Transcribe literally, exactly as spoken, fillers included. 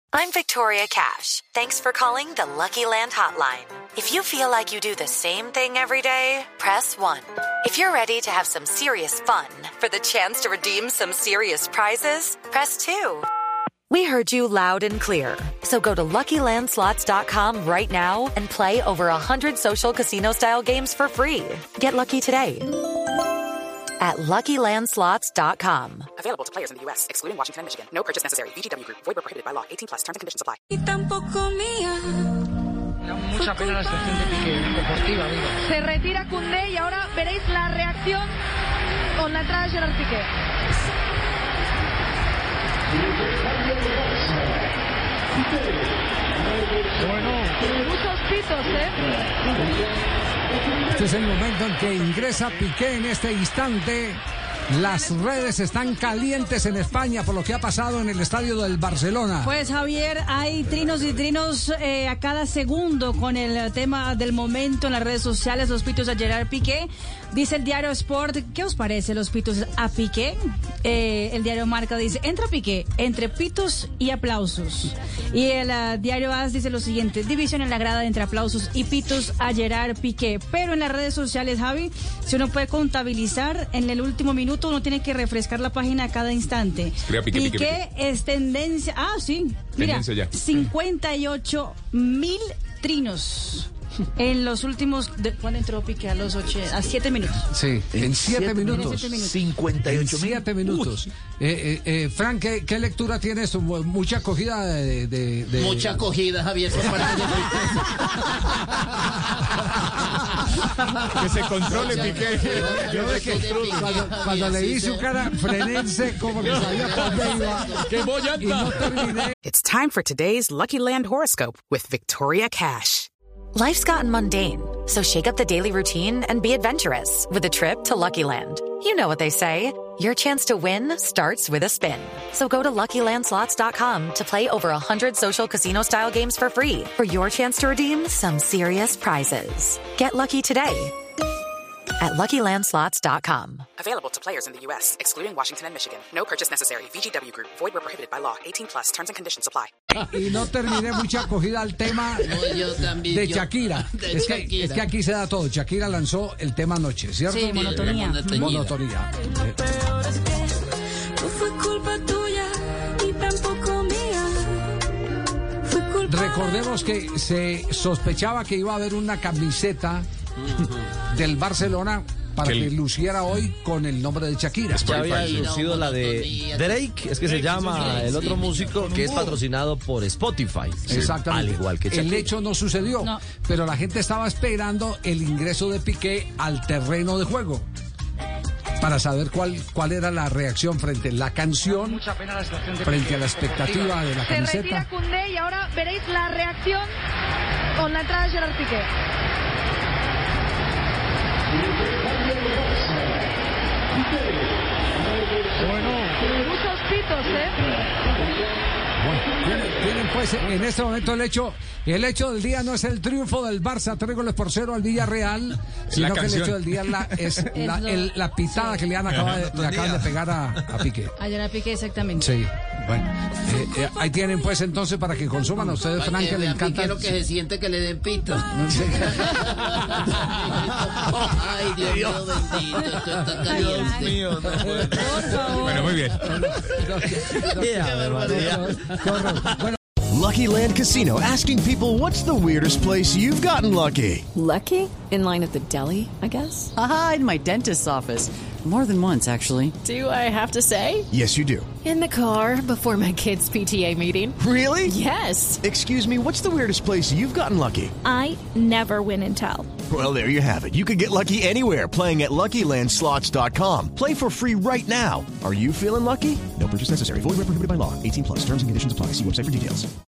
I'm Victoria Cash. Thanks for calling the Lucky Land Hotline. If you feel like you do the same thing every day, press one. If you're ready to have some serious fun for the chance to redeem some serious prizes, press two. We heard you loud and clear. So go to Lucky Land Slots dot com right now and play over one hundred social casino-style games for free. Get lucky today at Lucky Land Slots dot com. Available to players in the U S, excluding Washington and Michigan. No purchase necessary. V G W Group. Void where prohibited by law. eighteen plus. Terms and conditions apply. Y tampoco mía. Da mucha pena la situación de Piqué, deportiva, digo. Se retira Koundé y ahora veréis la reacción con la entrada de Gerard Piqué. Bueno, Muchos pitos, ¿eh? Este es el momento en que ingresa Piqué en este instante. Las redes están calientes en España por lo que ha pasado en el estadio del Barcelona. Pues Javier, hay trinos y trinos eh, a cada segundo con el tema del momento en las redes sociales, los pitos a Gerard Piqué. Dice el diario Sport, ¿qué os parece los pitos a Piqué? Eh, el diario Marca dice, entra Piqué, entre pitos y aplausos. Y el uh, diario A S dice lo siguiente, división en la grada entre aplausos y pitos a Gerard Piqué. Pero en las redes sociales, Javi, si uno puede contabilizar, en el último minuto uno tiene que refrescar la página a cada instante. Piqué, Piqué, Piqué, Piqué. es tendencia, ah sí, mira, Tendencia ya. cincuenta y ocho mil trinos. En los últimos, de, ¿cuándo entró Piqué? A los ocho, a siete minutos. Sí, en siete minutos. En siete minutos. cincuenta y ocho mil. Siete minutos. Eh, eh, eh, Frank, ¿qué, ¿qué lectura tiene esto? Mucha acogida de... de, de... Mucha acogida, Javier. Por parte Que se controle, Piqué. Yo de que cuando, cuando le vi su cara, frenense como que sabía por dónde iba. ¡Qué bollanta! Y no terminé. It's time for today's Lucky Land horoscope with Victoria Cash. Life's gotten mundane, so shake up the daily routine and be adventurous with a trip to Lucky Land. You know what they say, your chance to win starts with a spin. So go to Lucky Land Slots dot com to play over one hundred social casino-style games for free for your chance to redeem some serious prizes. Get lucky today at Lucky Land Slots dot com. Available to players in the U S, excluding Washington and Michigan. No purchase necessary. V G W Group. Void where prohibited by law. eighteen plus. Terms and conditions apply. Y no terminé mucha acogida al tema No, yo también, de yo- Shakira. de es, que, Shakira. es que aquí se da todo. Shakira lanzó el tema anoche, ¿cierto? Sí, monotonía. Monotonía. Eh, Peor es que no fue culpa tuya y tampoco mía. Fue culpa Recordemos que se sospechaba que iba a haber una camiseta del Barcelona para Que que, el- luciera hoy con el nombre de Shakira. Ya había Spotify. lucido la de Drake, es que se llama el otro músico que es patrocinado por Spotify. Exactamente. Al igual que el Shakira. hecho no sucedió, No. pero la gente estaba esperando el ingreso de Piqué al terreno de juego para saber cuál, cuál era la reacción frente a la canción, mucha pena la situación de frente Piqué, a la expectativa de la Se retira camiseta. Koundé y ahora veréis la reacción con la entrada de Gerard Piqué. Bueno, Muchos pitos, ¿eh? Bueno, tienen, tienen, pues en este momento el hecho, el hecho del día no es el triunfo del Barça, tres goles por cero al Villarreal, sino que el canción. hecho del día es la, es la, lo- el- la pitada que le, han acaba de, le acaban de pegar a, a Piqué. A Gerard Piqué, exactamente. Sí, bueno, eh, eh, ahí tienen pues entonces para que consuman a ustedes, Para Frank, que que le vea encanta. Piqué lo que se siente que le den pito. No sé. Ay, Dios mío, bendito. Esto está caliente. mío, no puede. Por favor. Bueno, muy bien. Bueno, Lucky Land Casino, asking people, what's the weirdest place you've gotten lucky? Lucky? In line at the deli, I guess? Aha, in my dentist's office. More than once, actually. Do I have to say? Yes, you do. In the car before my kids' P T A meeting. Really? Yes. Excuse me, what's the weirdest place you've gotten lucky? I never win and tell. Well, there you have it. You can get lucky anywhere, playing at Lucky Land Slots dot com. Play for free right now. Are you feeling lucky? No purchase necessary. Void where prohibited by law. eighteen plus. Terms and conditions apply. See website for details.